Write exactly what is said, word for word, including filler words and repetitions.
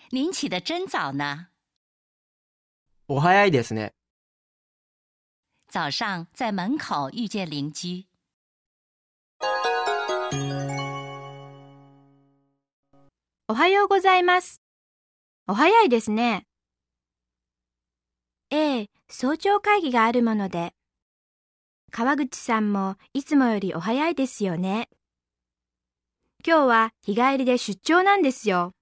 您起得真早呢。 お早いですね。 早上在门口遇见邻居。 おはようございます。お早いですね。ええ、早朝会議があるもので。川口さんもいつもよりお早いですよね。今日は日帰りで出張なんですよ。